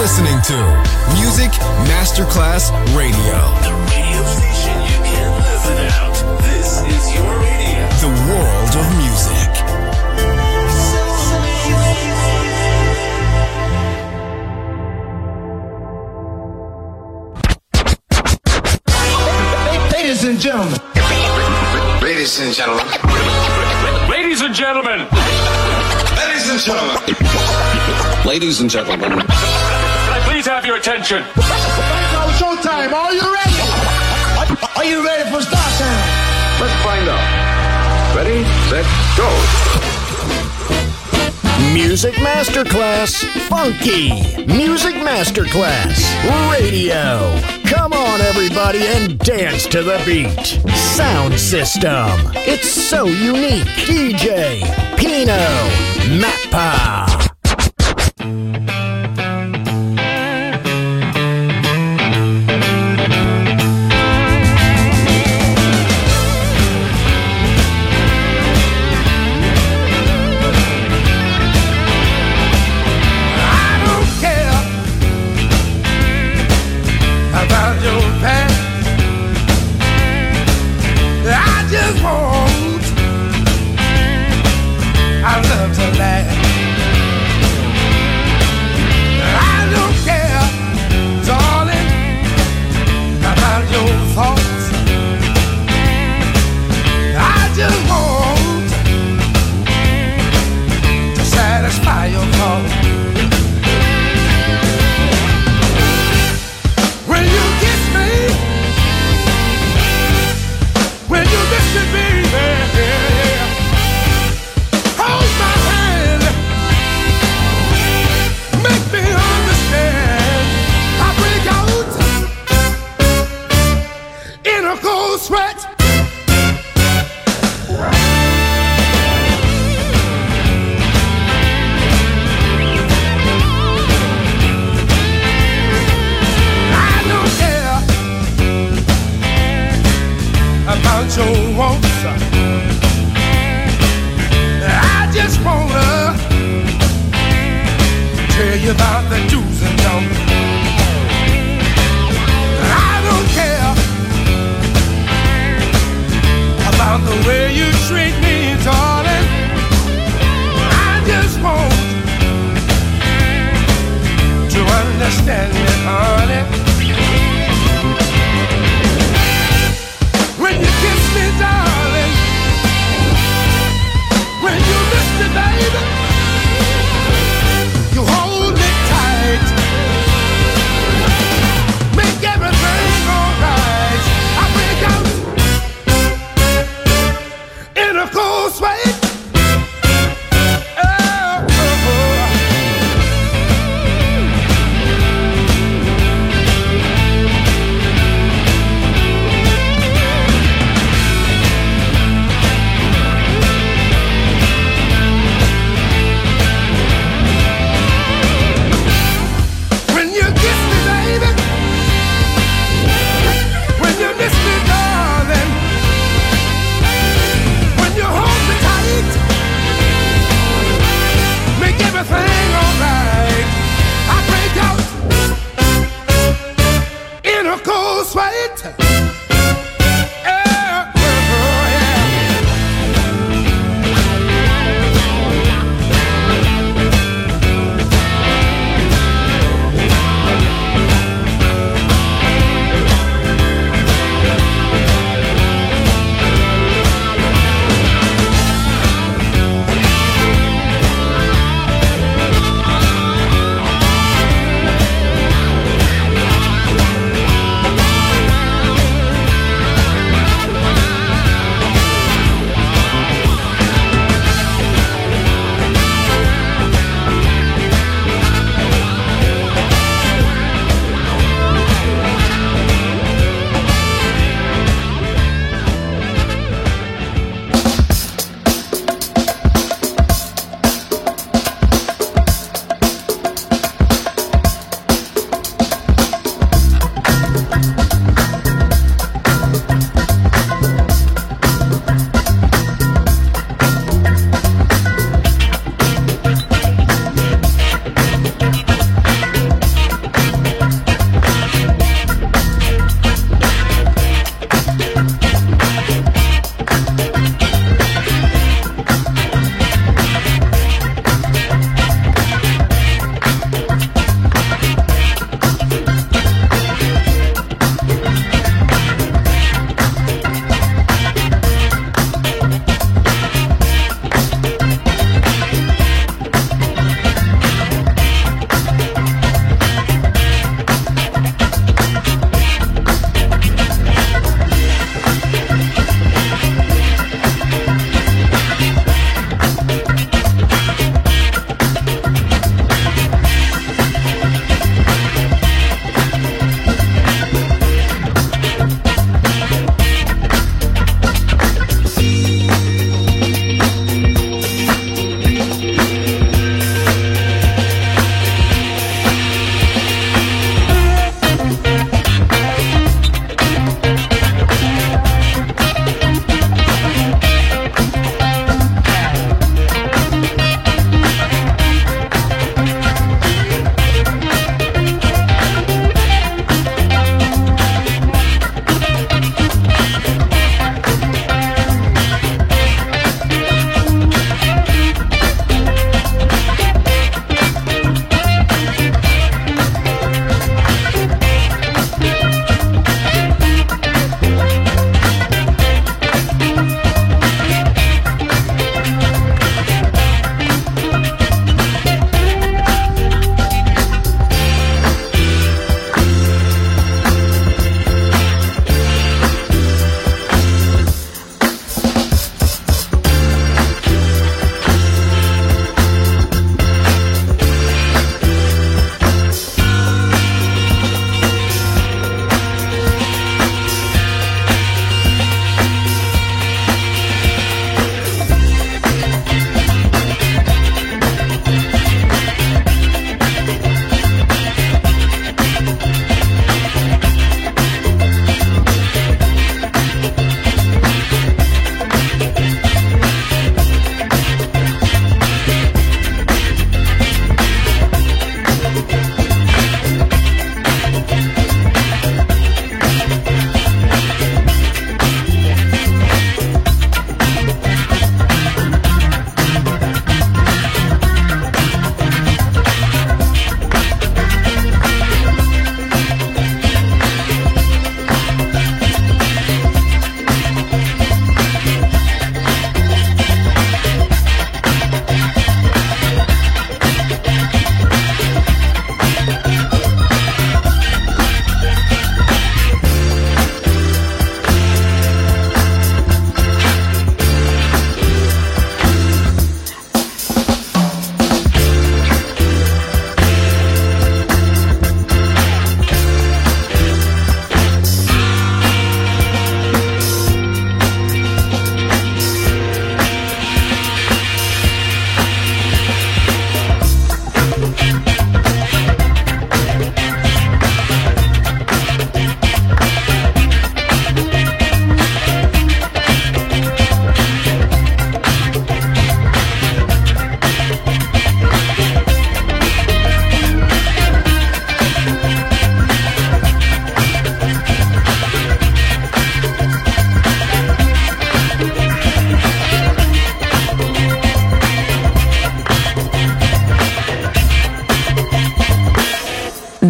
listening to Music Masterclass Radio. The radio station you can't live without. This is your radio. The world of music. Ladies and gentlemen. Ladies and gentlemen. Ladies and gentlemen. Ladies and gentlemen. Ladies and gentlemen. Can I please have your attention? Now showtime. Are you ready? Are you ready for start time? Let's find out. Ready, set, go. Music Masterclass Funky. Music Masterclass Radio. Come on, everybody, and dance to the beat. Sound system. It's so unique. DJ Pino Mappa.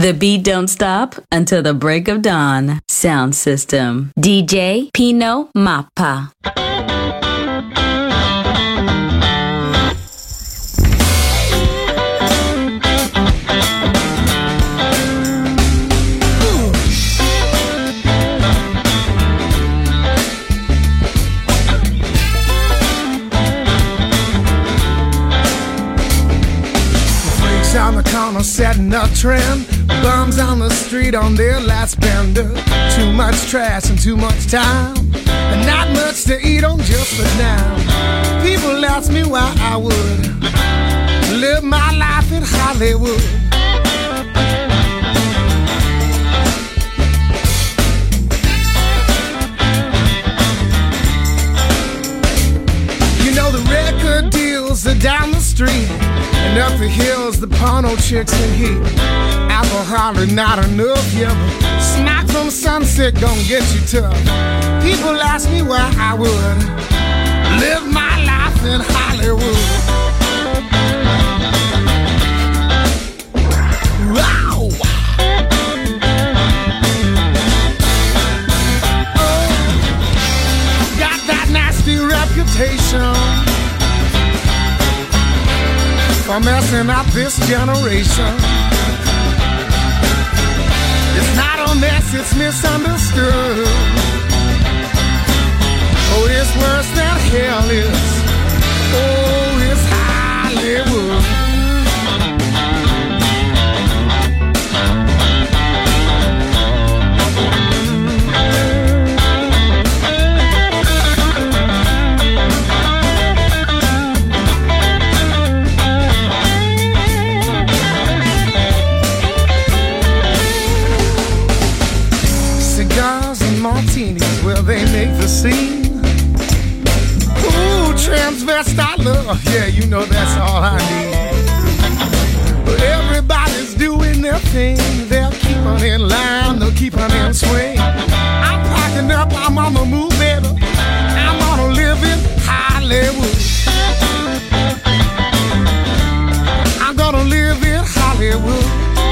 The beat don't stop until the break of dawn. Sound system. DJ Pino Mappa. On the corner setting a trend, bums on the street on their last bender. Too much trash and too much time, and not much to eat on just a dime. People ask me why I would live my life in Hollywood. You know the record deals are down the street, and up the hills, the porno chicks in heat. Alcohol is not enough, yeah, but smack from sunset gon' get you tough. People ask me why I would live my life in Hollywood. Wow! Oh, got that nasty reputation for messing up this generation. It's not a mess, it's misunderstood. Oh, it's worse than hell is. Oh, it's Hollywood. Martinis, well, they make the scene. Ooh, transvestite love, yeah, you know that's all I need. But everybody's doing their thing. They'll keep on in line, they'll keep on in swing. I'm packing up, I'm on the move, baby. I'm gonna live in Hollywood. I'm gonna live in Hollywood.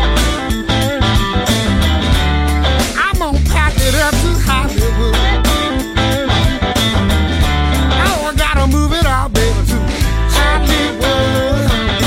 Up to Hollywood. Oh, I gotta move it out, baby, to Hollywood.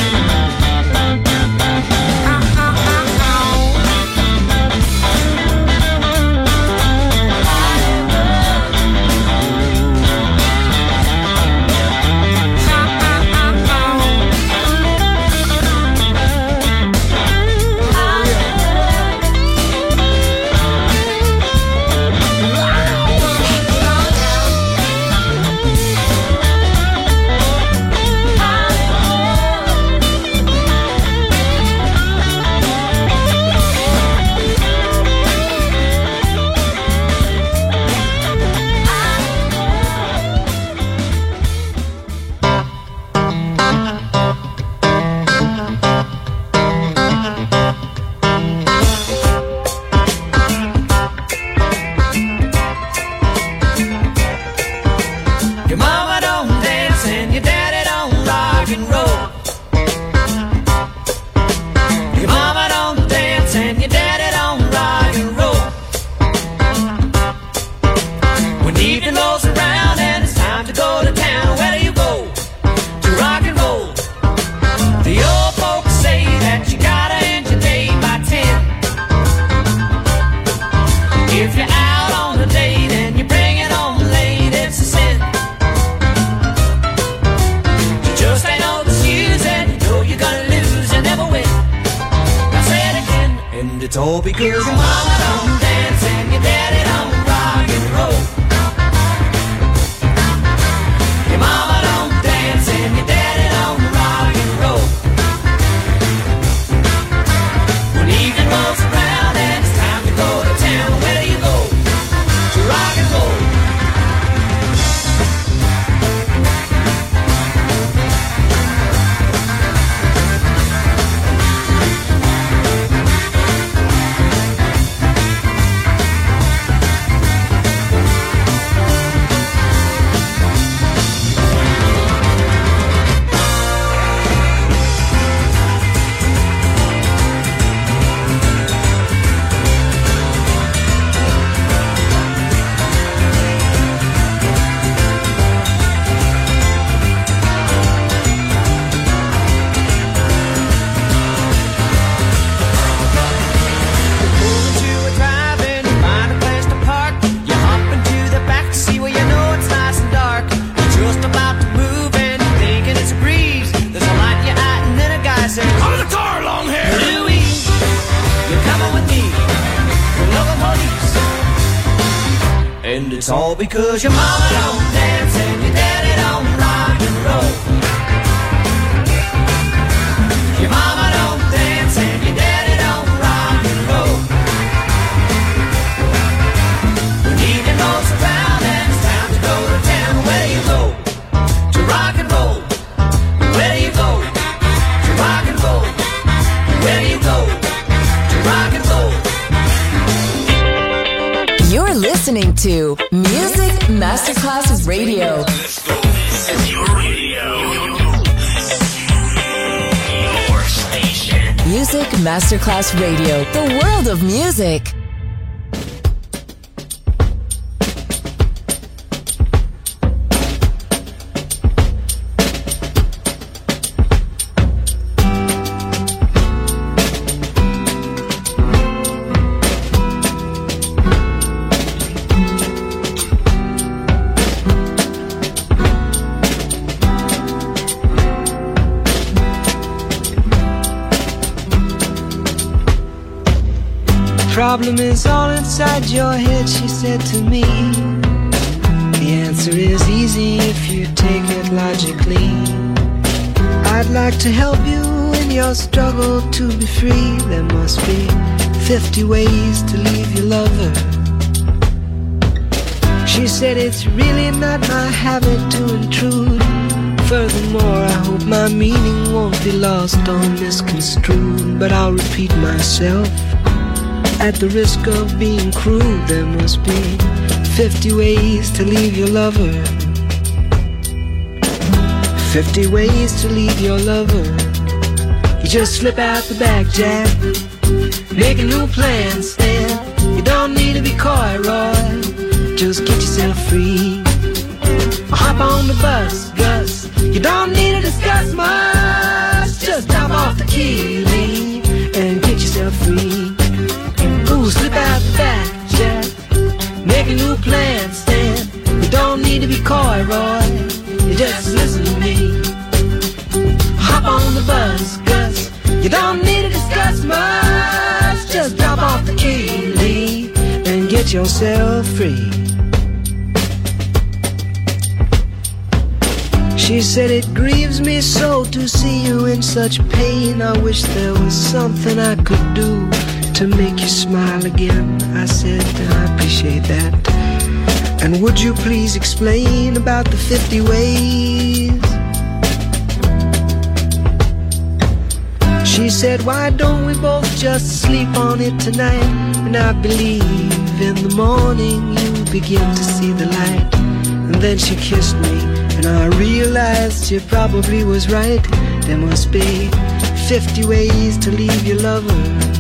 It's all because your mama don't dance and your daddy don't rock and roll. Your mama don't dance and your daddy don't rock and roll. When evening rolls around and it's time to go to town, where do you go? To rock and roll. It's all because your mama don't dance and your daddy don't rock and roll. Your mama don't dance and your daddy don't rock and roll. When evening rolls around and it's time to go to town, where you go? To rock and roll. Where you go? To rock and roll. Where you go? To rock and roll. You're listening to Music Masterclass Radio. Let's go. This is your radio. Your station. Music Masterclass Radio. The world of music. Problem is all inside your head, she said to me. The answer is easy if you take it logically. I'd like to help you in your struggle to be free. There must be 50 ways to leave your lover. She said it's really not my habit to intrude. Furthermore, I hope my meaning won't be lost or misconstrued. But I'll repeat myself. At the risk of being crude, there must be 50 ways to leave your lover. 50 ways to leave your lover. You just slip out the back, Jack. Make a new plan, Stan. You don't need to be coy, Roy. Just get yourself free. Hop on the bus, Gus. You don't need to discuss much. Just drop off the key, Lee, and get yourself free. Ooh, slip out the back, Jack. Make a new plan, Stan. You don't need to be coy, Roy. You just listen to me. Hop on the bus, Gus. You don't need to discuss much. Just drop off the key, Lee, and get yourself free. She said it grieves me so to see you in such pain. I wish there was something I could do to make you smile again. I said, I appreciate that. And would you please explain about the 50 ways? She said, why don't we both just sleep on it tonight? And I believe in the morning you begin to see the light. And then she kissed me, and I realized she probably was right. There must be 50 ways to leave your lover.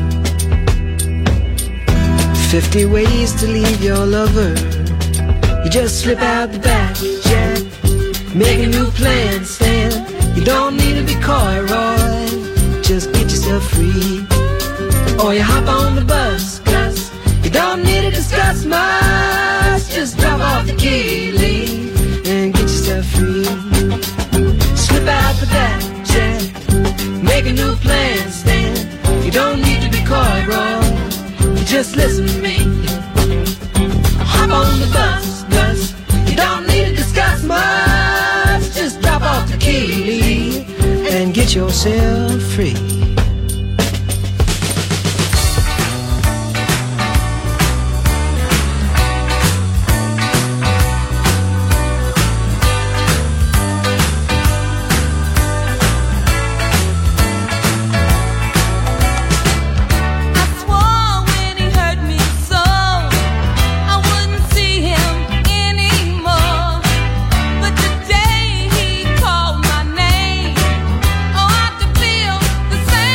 50 ways to leave your lover. You just slip out the back, Jack. Make a new plan, Stan. You don't need to be coy, Roy. Just get yourself free. Or you hop on the bus, Gus. You don't need to discuss much. Just drop off the key, Lee, and get yourself free. Slip out the back, Jack. Make a new plan, Stan. You don't need to be coy, Roy. Just listen to me. Hop on the bus, Gus. You don't need to discuss much. Just drop off the key and get yourself free. Same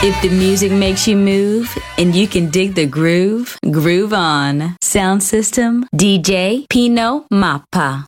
If the music makes you move and you can dig the groove, groove on. Sound system, DJ Pino Mappa.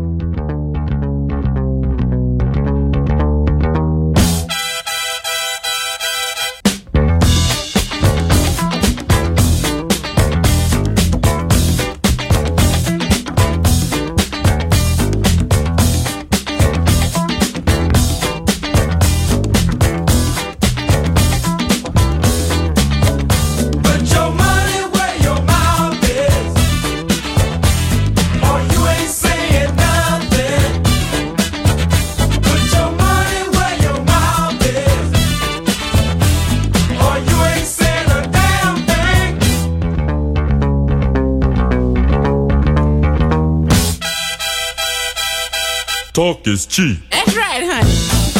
Talk is cheap. That's right, honey.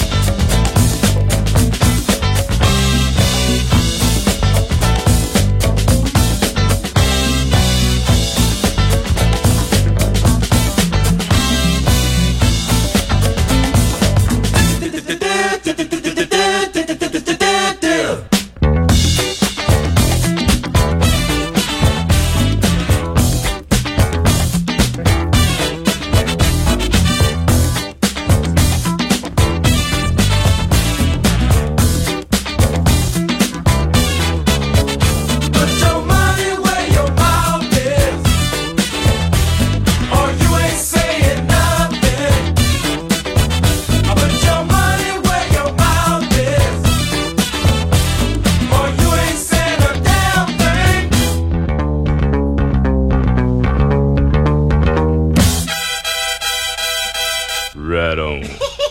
Right on.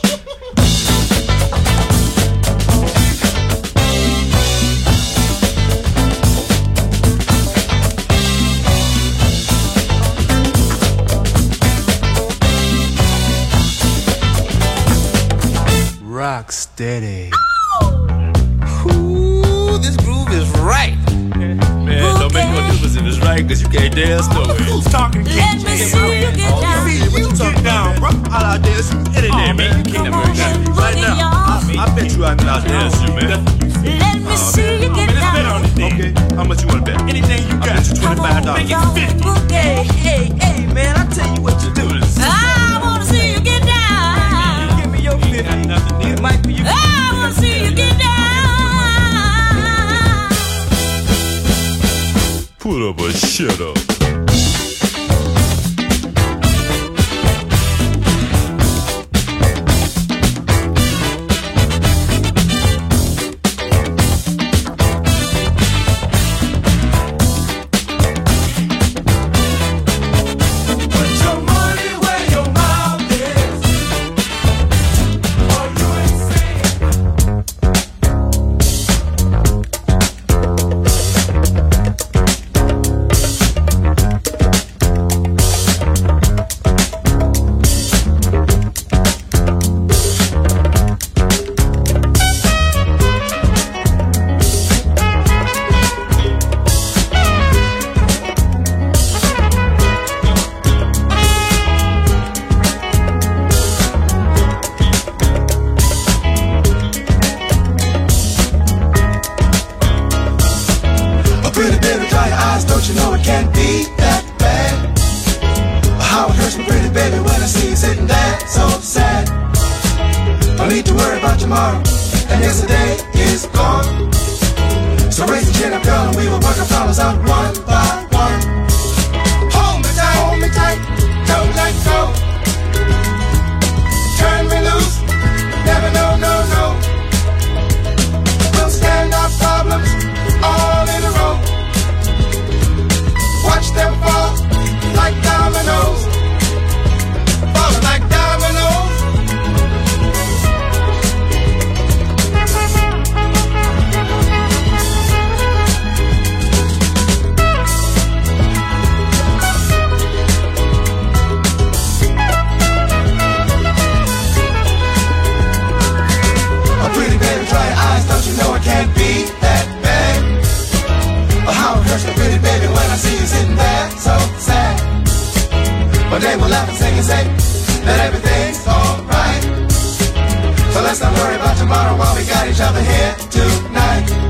Rock steady. Ooh, this groove is right. Man, don't make no difference if it's right, cause you can't dance no way. Who's talking? Let me see you get down. What you talking down, bro? I'll dance you any day, man. You can't never dance right now. I bet you I can out dance you, man. Let me see you get Let's down. bet on anything. Okay, how much you want to bet? Anything you got. I bet you $25. Make it 50. Hey, man, I tell you what you do. I wanna see you get down. Give me your 50. It might be your 50. I wanna see you get down. Put up or shut up. One day we'll laugh and sing and say that everything's alright. So let's not worry about tomorrow while we got each other here tonight.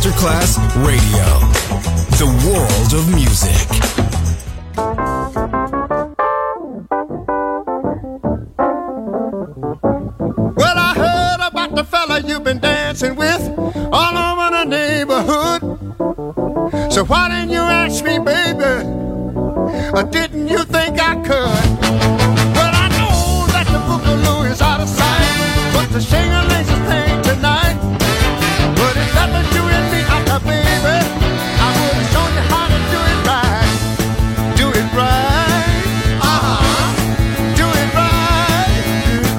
Masterclass Radio. The world of music. Well, I heard about the fella you've been dancing with all over the neighborhood. So why didn't you ask me, baby? Or didn't you think I could? Well, I know that the boogaloo is out of sight, but the shing-a-ling's a thing tonight. But if that was you and me, baby, I would have shown you how to do it right. Do it right. Do it right. Do it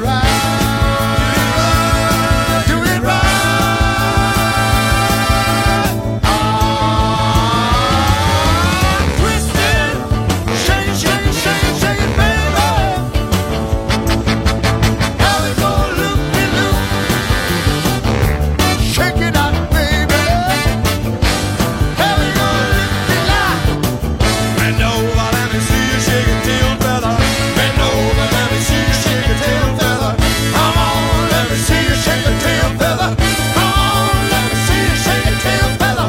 right. Do it right. Twist it. Shake it, shake it, shake it, shake it, baby. How it go loop-de-loop. Shake it out, baby. How it go loop-de-loop. Bend over, let me see you shake your tail, fella. Bend over, let me see you shake your tail, fella. Come on, let me see you shake your tail, fella. Come on, let me see you shake your tail, fella.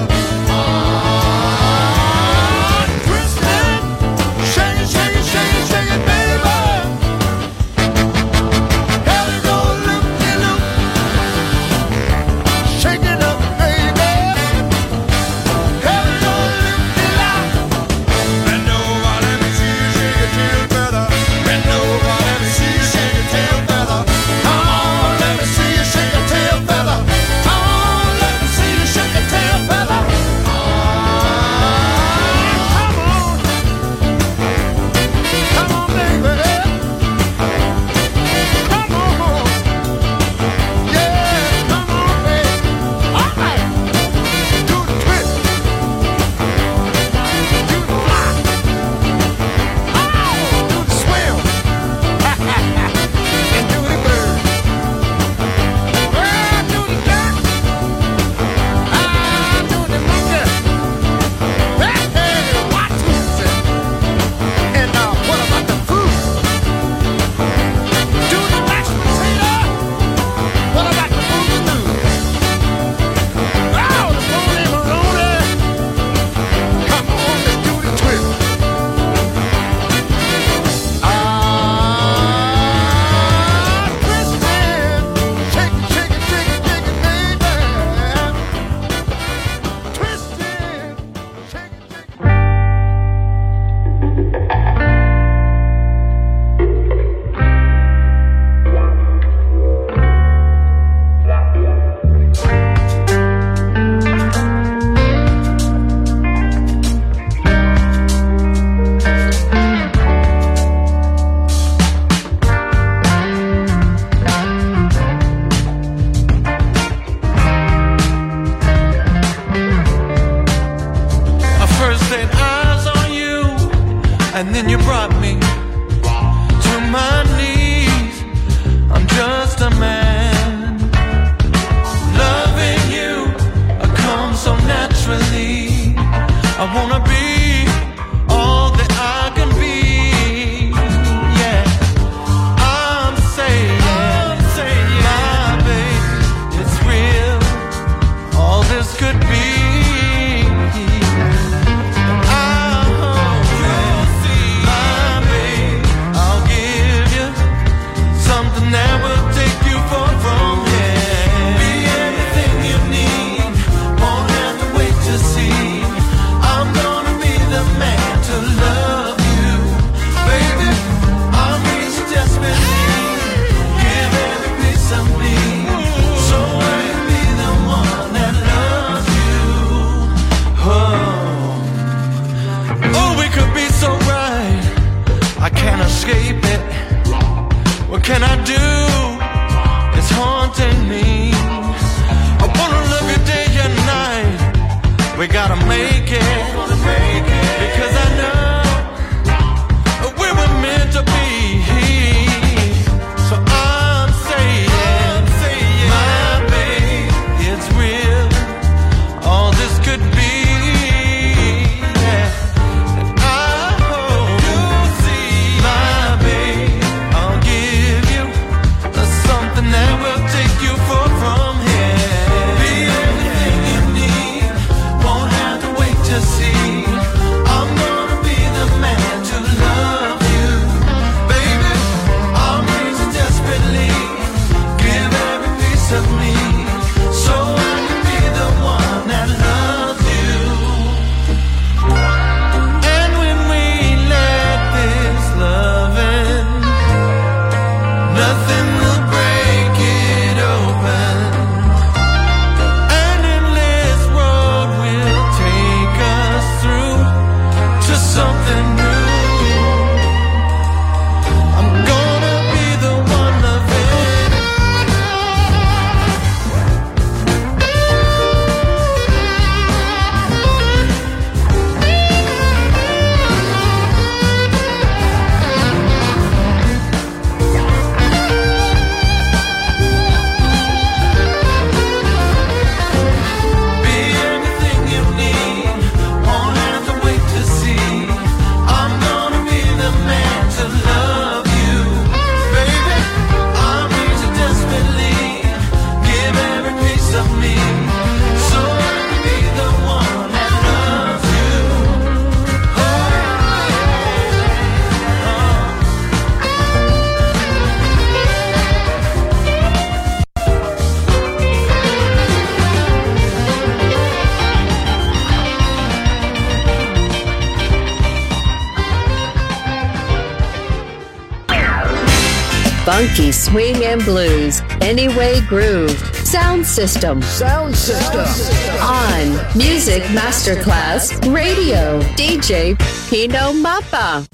Twist it. Shake it, shake it, shake it, shake it, baby. How it go loop-de-loop. Shake it up, baby. How it go loop-de-loop. Bend over, let me see you shake your tail, fella. Bend over, let me see you shake your tail, fella. Come on, let me see you shake your tail, fella. Come on, let me see you shake your tail, fella. Come on. Come on, baby. Come on. Yeah, come on, baby. All right. Do the twist. Do the fly. Oh, do the swim. And do the bird. Well, do the duck. Do the monkey. Hey, watch music. And what about the food? Do the mashed potato. What about the boogaloo? Oh, the Boney Maloney. Come on, let's do the twist. Twist it. Shake it, shake it, shake it, shake it, baby. Twist it. Shake it, shake it. I first laid eyes on you, and then you brought me to my knees. I'm just a man, loving you. I come so naturally. I wanna be all that I can be. Yeah, I'm saying, my baby, it's real. All this could be. I'll give you something that will take you far from here. Be everything you need, won't have to wait to see. I'm gonna be the man to love you, baby. I'll need you desperately, give every piece of me, so I can be the one that loves you. Oh, we could be so right, I can't escape it. What can I do? It's haunting me. I wanna love you day and night. We gotta make it, because I know we were meant to be. So I'm saying, my baby, it's real. All this could be. Yeah. And I hope you'll see, my baby, I'll give you something that will take you far from here. Be everything you need, Funky swing and blues. Anyway groove. Sound system. Sound system. On Music Masterclass Radio. DJ Pino Mappa.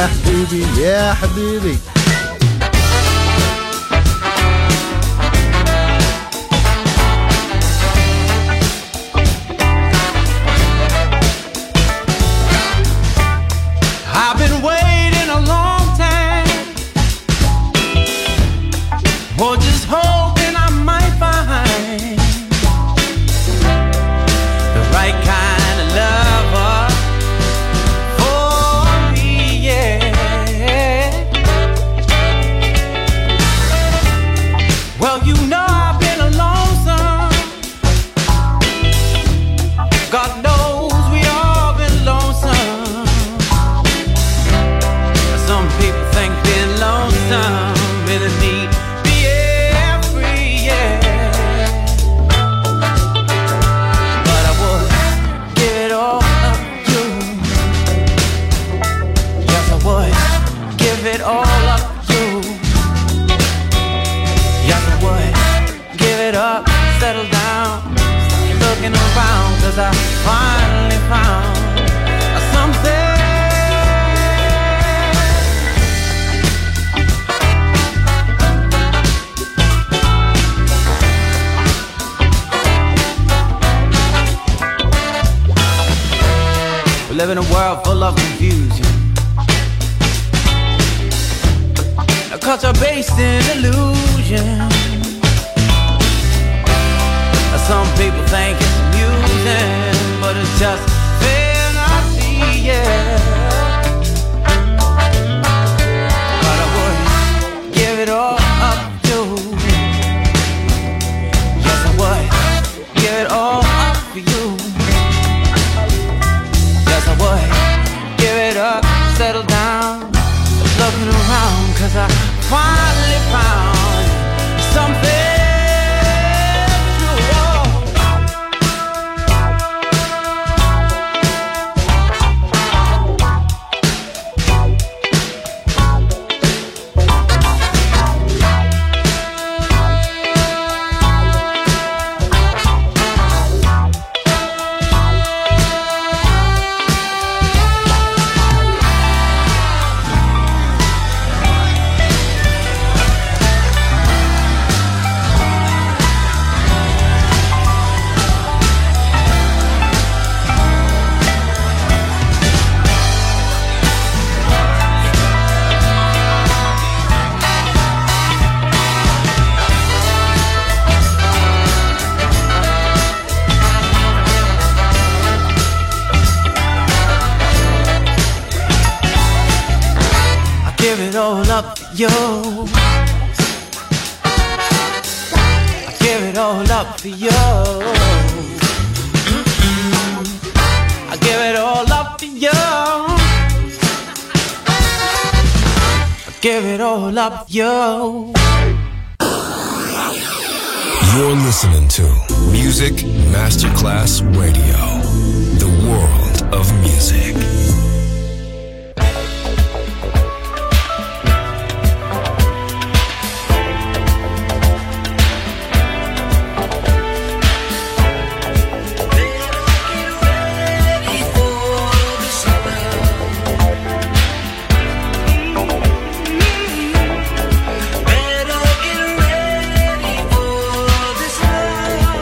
يا حبيبي يا حبيبي. I've been waiting a long time, or just hoping I might find the right kind of lover for me, yeah. Well, you know I've been alone some. God knows we all been lonesome. Some people think being lonesome really need being free, yeah. But I would give it all up to you. Yes, I would give it all up to you. Yes, I would give it up, settle down, stop looking around, 'cause I finally found something. We live in a world full of confusion, a culture based in illusion. Some people think it's amusing, but it's just fantasy, yeah. But I would give it all up to. Yes, I would give it all up for you. Yes, I would give it up, settle down, looking around, 'cause I finally found something. Give it all up for you. I give it all up for you. I give it all up for you. I give it all up for you. You're listening to Music Masterclass Radio, the world of music.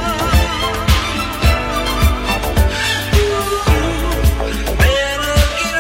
Better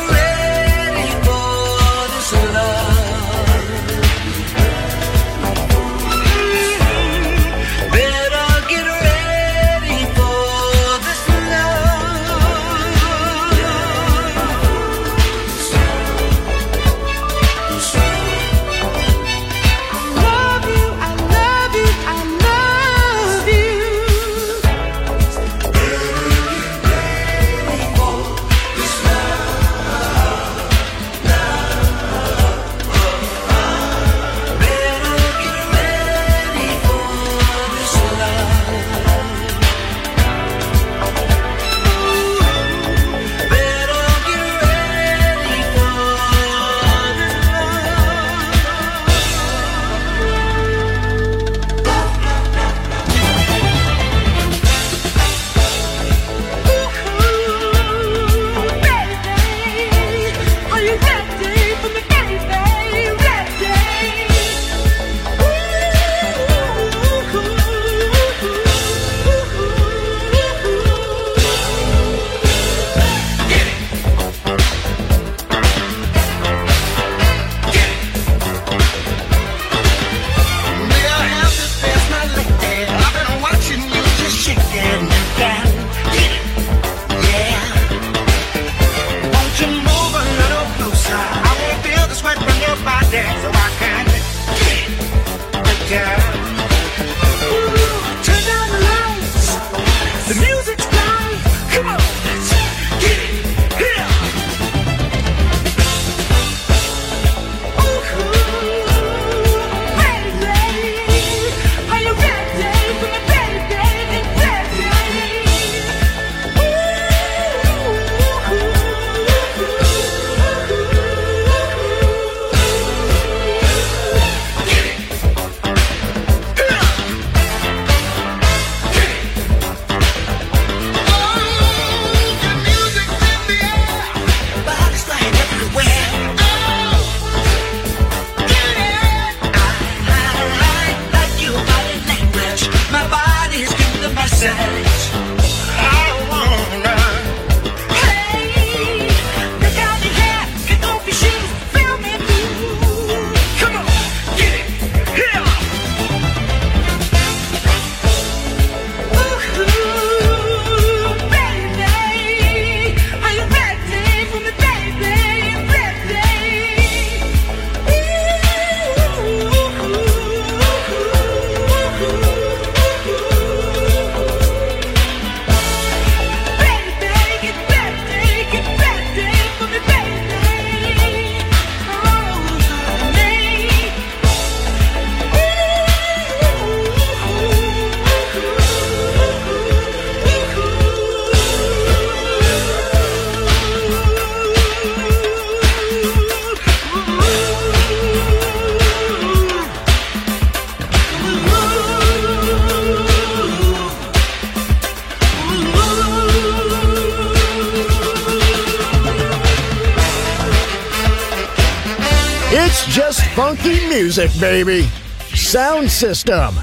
It's just funky music, baby. Sound System,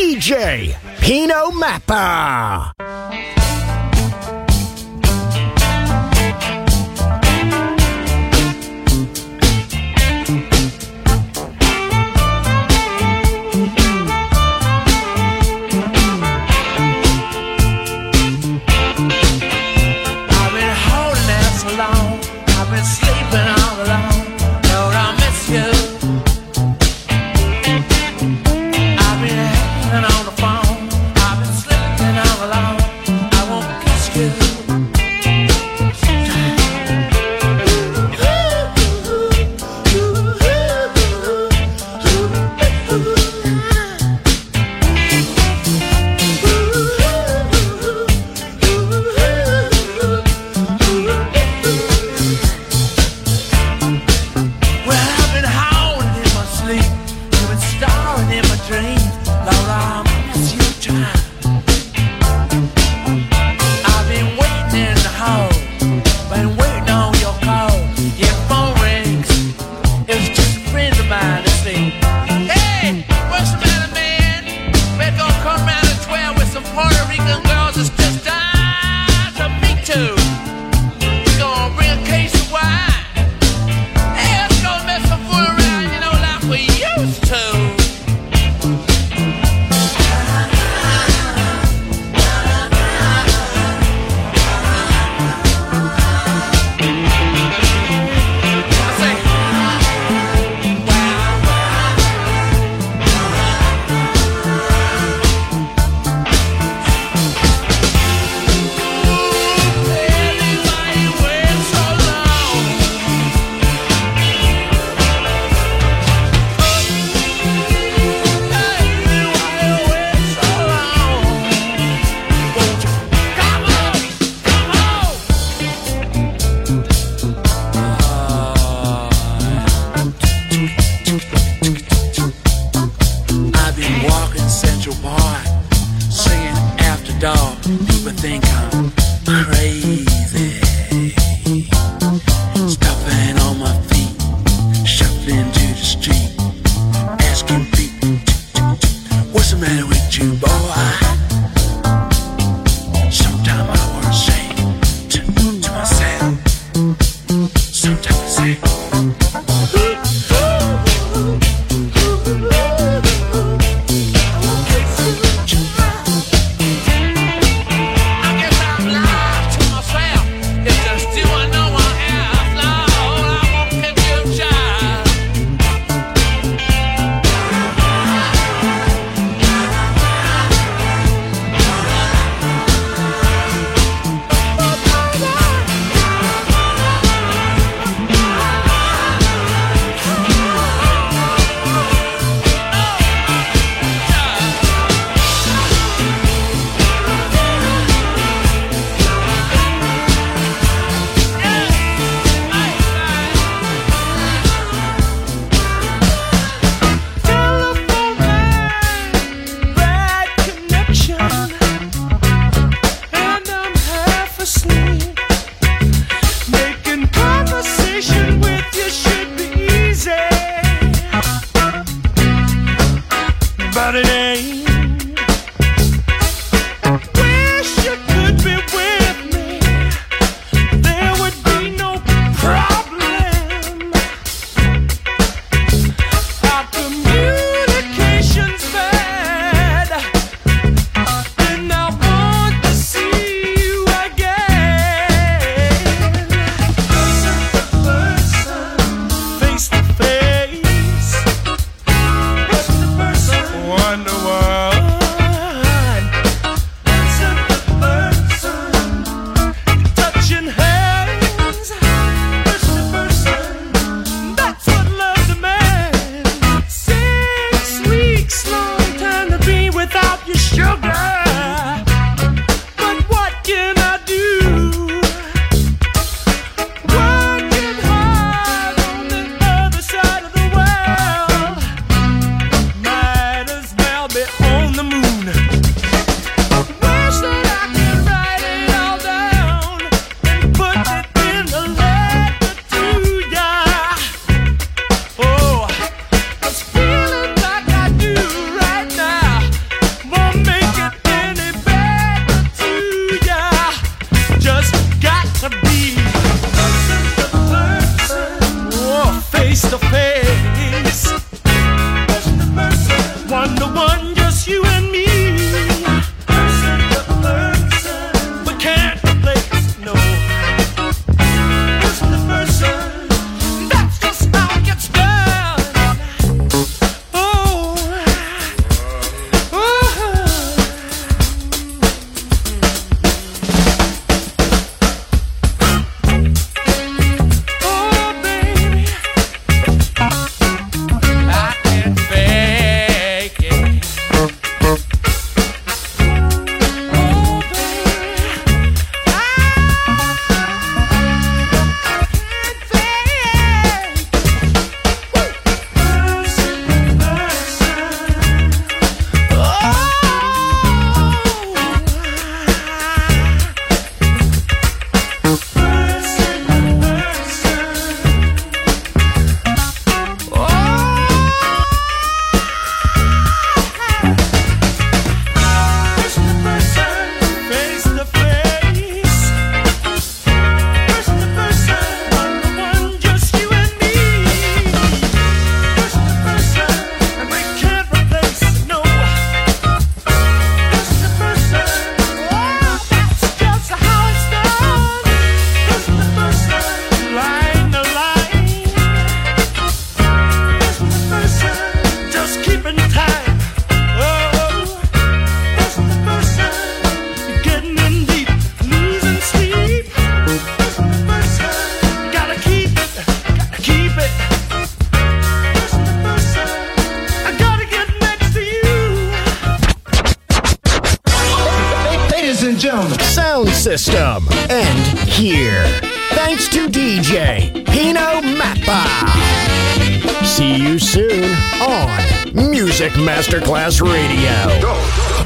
DJ Pino Mappa. I've been holding out so long, I've been sleeping all alone. Lord, I miss you. I've been hanging on the phone, I've been sleeping all alone. name. Wish you could be with me. There would be no problem. Our communication's bad, and I want to see you again. Person to person, face to face. Person to person, one to one. Person to person, touching hands. Person to person, that's what love demands. 6 weeks, long time to be without your sugar. But what can I do? Working hard on the other side of the world. Might as well be on the moon. Wish that I could write it all down and put it in a letter to ya. Oh, 'cause feeling like I do right now won't make it any better to ya. Just got to be person to person, oh, face to face. Person to person, one to one, just you and me. Person to person, we can't replace, no. Person to person, that's just how it gets done. Oh, oh, baby, I can't fake it. Oh, face to face. Person to person, one to one, just you and me. Person to person, and we can't replace, no. Person to person, oh, that's just how it's done. Person to person, line to line. Person to person, just keeping time. Oh, person to person, getting in deep, losing sleep. Person to person, gotta keep it, gotta keep it. Person to person, I gotta get next to you. Ladies and gentlemen, Sound System. And here. Thanks to DJ Pino Mappa. See you soon on Music Masterclass Radio.